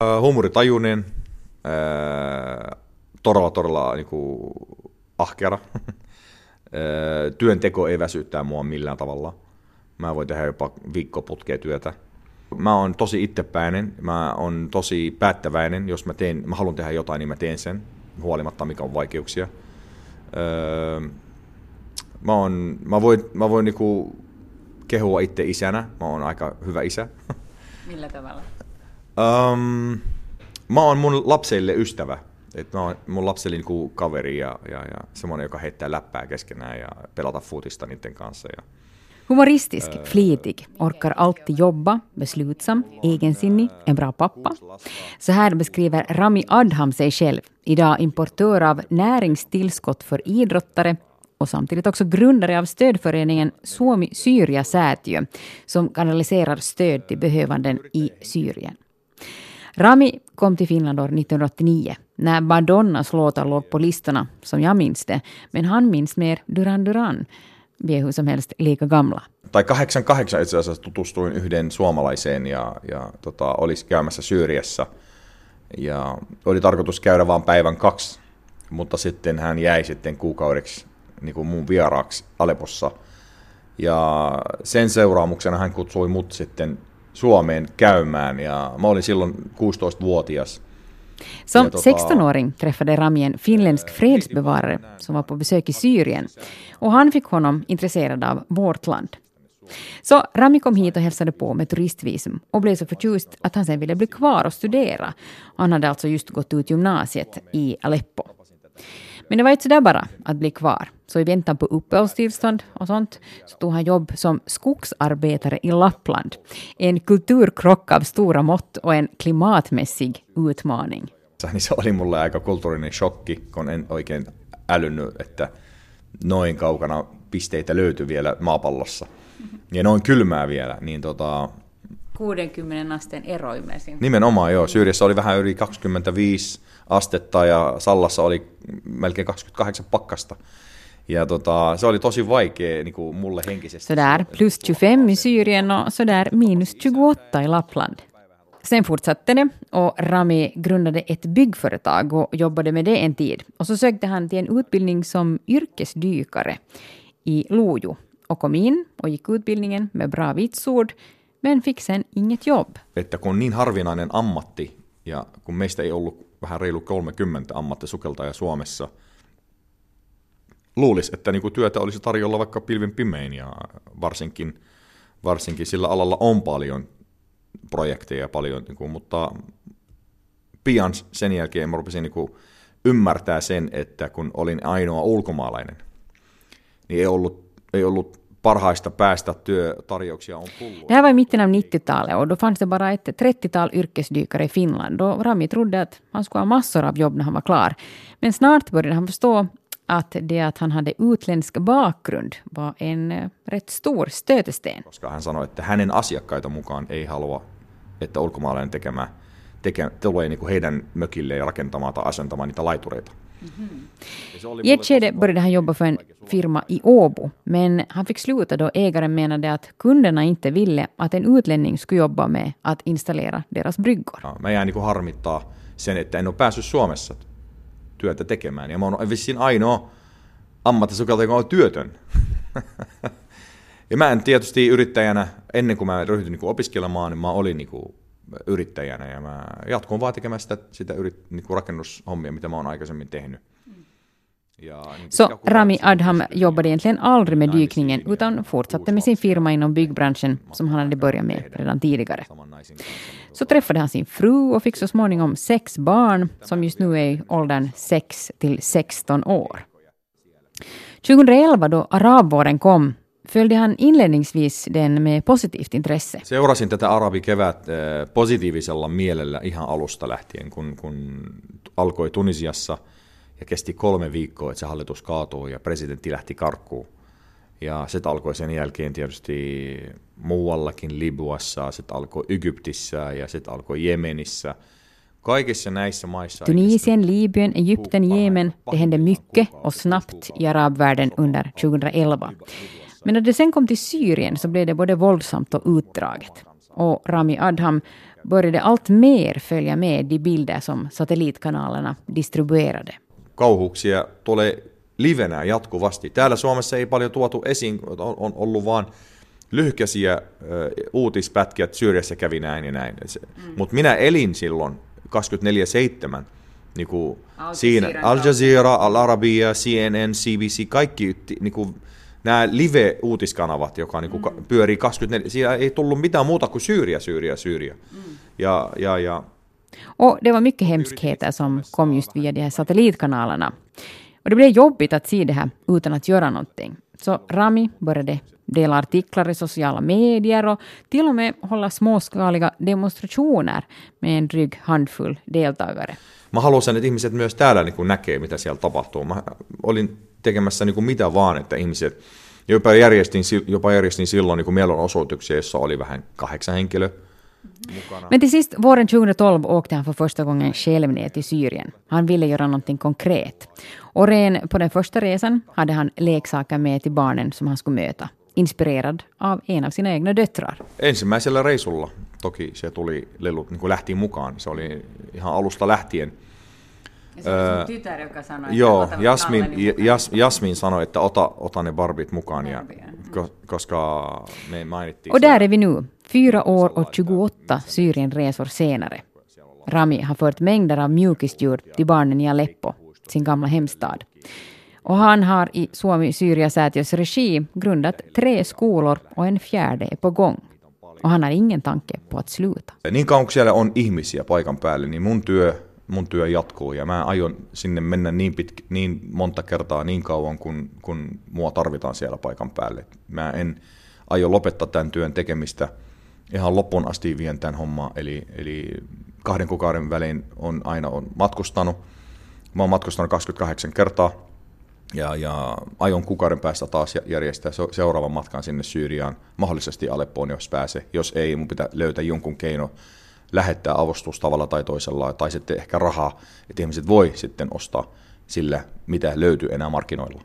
Huumoritajuinen, todella niinku ahkera. Työnteko ei väsyttää mua millään tavalla. Mä voin tehdä jopa viikkoputkea työtä. Mä oon tosi itsepäinen, mä oon tosi päättäväinen. Jos mä haluan tehdä jotain, niin mä teen sen, huolimatta mikä on vaikeuksia. Mä voin niinku kehua itse isänä. Mä oon aika hyvä isä. Millä tavalla? Mä oon mun lapsille ystävä. Et mä oon mun lapsille niinku kaveri ja semmoinen, joka heittää läppää keskenään ja pelata futista niiden kanssa. Humoristisk, flitig, orkar alltid jobba, beslutsam, egensinnig, en bra pappa. Så här beskriver Rami Adham sig själv, idag importör av näringstillskott för idrottare och samtidigt också grundare av stödföreningen Suomi Syyria Säätiö, som kanaliserar stöd till behövanden i Syrien. Rami kom till Finland år 1989 när Madonnas låtar låg på listorna, som jag minns det, men han minns mer Duran Duran. Vi är hur som helst lika gamla. Tai 88 itse asiassa tutustuin yhden suomalaiseen ja olisi käymässä Syyriassa. Ja oli tarkoitus käydä vain päivän 2, mutta sitten hän jäi sitten kuukaudeksi niin kuin mun vieraaksi Aleppossa. Ja sen seuraamuksena hän kutsui mut sitten Suomeen käymään ja mä olin silloin 16-vuotias. Som 16-åring träffade Rami en finländsk fredsbevarare som var på besök i Syrien och han fick honom intresserad av vårt land. Så Rami kom hit och hälsade på med turistvisum och blev så förtjust att han sen ville bli kvar och studera. Han hade alltså just gått ut gymnasiet i Aleppo. Men det var inte så där bara att bli kvar. Så i väntan på uppehållstillstånd och sånt så tog han jobb som skogsarbetare i Lappland. En kulturkrock av stora mått och en klimatmässig utmaning. Se oli mulle aika kulttuurinen shokki, kun en oikein älynnyt, että noin kaukana pisteitä löytyi vielä maapallossa. Ja noin kylmää vielä. Niin 60 asteen ero ymmärsin. Nimenomaan joo. Syyriassa oli vähän yli 25 astetta ja Sallassa oli melkein 28 pakkasta. Ja se oli tosi vaikea niin kuin mulle henkisesti. Sådär plus 25 i Syrien och sådär minus 28 i Lappland. Sen fortsatte det och Rami grundade ett byggföretag och jobbade med det en tid. Och så sökte han till en utbildning som yrkesdykare i Lojo och kom in och gick utbildningen med bra vitsord men fick sen inget jobb. Että kun on niin harvinainen ammatti ja kun meistä ei ollut vähän reilu 30 ammattisukeltajaa Suomessa, luulisi, että niinku työtä olisi tarjolla vaikka pilvin pimein ja varsinkin sillä alalla on paljon projekteja paljon, niinku, mutta pian sen jälkeen mä rupesin niinku ymmärtää sen, että kun olin ainoa ulkomaalainen, niin ei ollut parhaista päästä työtarjouksia on tullut. Det här var i mitten av 90-talet och då fanns det bara ett 30-tal yrkesdykare i Finland och Rami trodde att han skulle ha massor av jobb när han var klar. Men snart började han förstå att det att han hade utländsk bakgrund var en rätt stor stötesten. Koska hän sanoi, että hänen asiakkaita mukaan ei halua, että ulkomaalainen tulee niinku heidän mökille ja rakentamaan tai asentamaan niitä laitureita. I ett skede började han jobba för en firma i Åbo, men han fick sluta då ägaren menade att kunderna inte ville att en utlänning skulle jobba med att installera deras bryggor. Ja, mä jäin niinku harmittaa sen, että en ole päässyt Suomessa työtä tekemään. Ja mä oon vissiin ainoa ammattisukeltaja, joka on työtön. Ja mä en tietysti yrittäjänä, ennen kuin mä ryhdyin niinku opiskelemaan, niin mä olin niinku yrittäjänä ja mä jatkuin vaan tekemään sitä niinku rakennushommia, mitä mä oon aikaisemmin tehnyt. Så Rami Adham jobbade egentligen aldrig med dykningen utan fortsatte med sin firma inom byggbranschen som han hade börjat med redan tidigare. Så träffade han sin fru och fick så småningom 6 barn som just nu är i åldern 6 till 16 år. 2011 då arabvåren kom följde han inledningsvis den med positivt intresse. Seurasin tätä arabikevät positiivisella mielellä ihan alusta lähtien, kun alkoi Tunisiassa ja kesti 3 viikkoa, että se hallitus kaatui ja presidentti lähti karkuun. Ja se alkoi sen jälkeen tietysti muuallakin, Libyassa, se alkoi Egyptissä ja se alkoi Jemenissä. Kaikissa näissä maissa... Tunisien, Libyen, Egypten, Jemen, det hände mycket och snabbt i arabvärlden under 2011. Men när det sen kom till Syrien så blev det både våldsamt och utdraget. och Rami Adham började allt mer följa med de bilder som satelliitkanalerna distribuerade. Kauhuuksia tulee livenä jatkuvasti. Täällä Suomessa ei paljon tuotu esiin, on ollut vaan lyhkäisiä uutispätkiä, että Syyriassa kävi näin ja näin. Mutta minä elin silloin 24/7, niinku siinä Al Jazeera, Al Arabiya, CNN, CBC, kaikki niinku, nämä live-uutiskanavat, joka niinku pyörii 24, siinä ei tullut mitään muuta kuin Syyria. Ja. Och det var mycket hemskheter som kom just via de här satellitkanalerna. Och det blev jobbigt att se det här utan att göra någonting. Så Rami började dela artiklar i sociala medier och till och med hålla småskaliga demonstrationer med en dryg handfull deltagare. Mä haluaisin, että ihmiset myös täällä niin näkee, mitä siellä tapahtuu. Mä olin tekemässä niin mitä vaan, että ihmiset, jopa järjestin silloin niin mielenosoituksia, jossa oli vähän 8 henkilöä mukana. Men till sist, våren 2012 åkte han för första gången själv ner till Syrien. Han ville göra någonting konkret. Och redan på den första resan hade han leksaker med till barnen som han skulle möta. Inspirerad av en av sina egna döttrar. Ensimmäisellä reisulla toki se tuli lelut, niin kuin lähti mukaan. Se oli ihan alusta lähtien. Ja se oli sun tytär, joka sanoi, joo, Jasmin sanoi, että ota ne Barbit mukaan, ja, koska me mainittiin. Och där är vi nu, 4 år och 28 Syrienresor senare. Rami har fört mängder av mjukisdjur till barnen i Aleppo, sin gamla hemstad. Och han har i Suomi-Syria-säätiös regi grundat 3 skolor och en 4:e är på gång. Och han har ingen tanke på att sluta. Niin kauan kun siellä on ihmisiä paikan päälle, niin mun työ jatkuu ja mä aion sinne mennä niin monta kertaa niin kauan, kun mua tarvitaan siellä paikan päälle. Mä en aio lopettaa tämän työn tekemistä ihan loppuun asti vien tämän hommaa, eli 2 kuukauden välein on matkustanut. Mä oon matkustanut 28 kertaa ja aion kuukauden päästä taas järjestää seuraavan matkan sinne Syyriaan, mahdollisesti Aleppoon, jos pääsee. Jos ei, mun pitää löytää jonkun keino lähettää avustus tavalla tai toisella, tai sitten ehkä rahaa, että ihmiset voi sitten ostaa sillä, mitä löytyy enää markkinoilla.